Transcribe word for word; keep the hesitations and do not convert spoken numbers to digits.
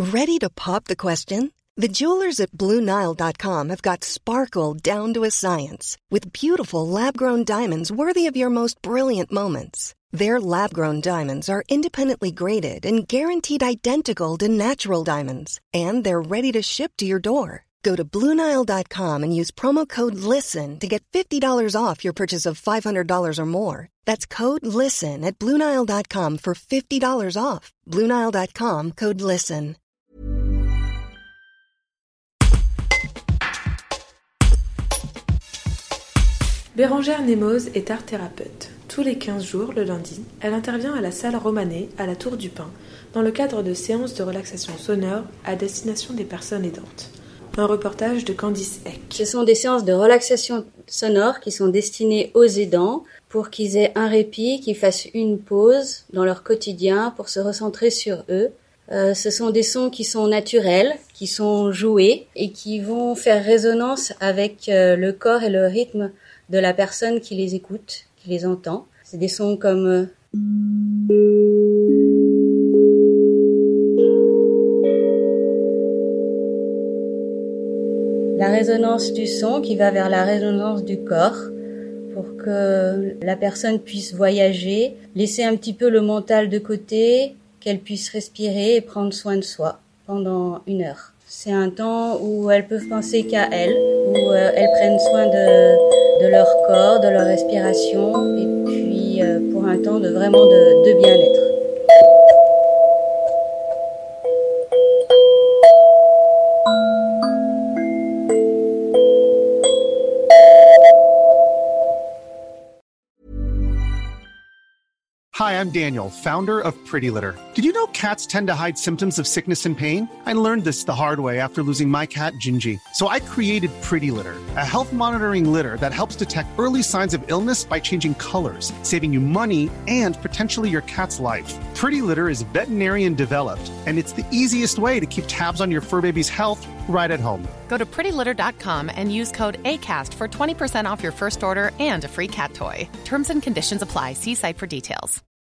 Ready to pop the question? The jewelers at Blue Nile dot com have got sparkle down to a science with beautiful lab-grown diamonds worthy of your most brilliant moments. Their lab-grown diamonds are independently graded and guaranteed identical to natural diamonds, and they're ready to ship to your door. Go to Blue Nile dot com and use promo code LISTEN to get fifty dollars off your purchase of five hundred dollars or more. That's code LISTEN at Blue Nile dot com for fifty dollars off. Blue Nile dot com, code LISTEN. Bérangère Nemoz est art-thérapeute. Tous les quinze jours, le lundi, elle intervient à la salle Romanet, à la Tour du Pin, dans le cadre de séances de relaxation sonore à destination des personnes aidantes. Un reportage de Candice Eck. Ce sont des séances de relaxation sonore qui sont destinées aux aidants pour qu'ils aient un répit, qu'ils fassent une pause dans leur quotidien pour se recentrer sur eux. Euh, ce sont des sons qui sont naturels, qui sont joués et qui vont faire résonance avec euh, le corps et le rythme de la personne qui les écoute, qui les entend. C'est des sons comme... Euh... la résonance du son qui va vers la résonance du corps pour que la personne puisse voyager, laisser un petit peu le mental de côté, qu'elle puisse respirer et prendre soin de soi pendant une heure. C'est un temps où elles peuvent penser qu'à elles, où euh, elles prennent soin de, de leur corps, de leur respiration, et puis euh, pour un temps de vraiment de, de bien-être. Hi, I'm Daniel, founder of Pretty Litter. Did you know cats tend to hide symptoms of sickness and pain? I learned this the hard way after losing my cat, Gingy. So I created Pretty Litter, a health monitoring litter that helps detect early signs of illness by changing colors, saving you money and potentially your cat's life. Pretty Litter is veterinarian developed, and it's the easiest way to keep tabs on your fur baby's health right at home. Go to pretty litter dot com and use code ACAST for twenty percent off your first order and a free cat toy. Terms and conditions apply. See site for details.